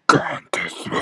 ガーンってすごい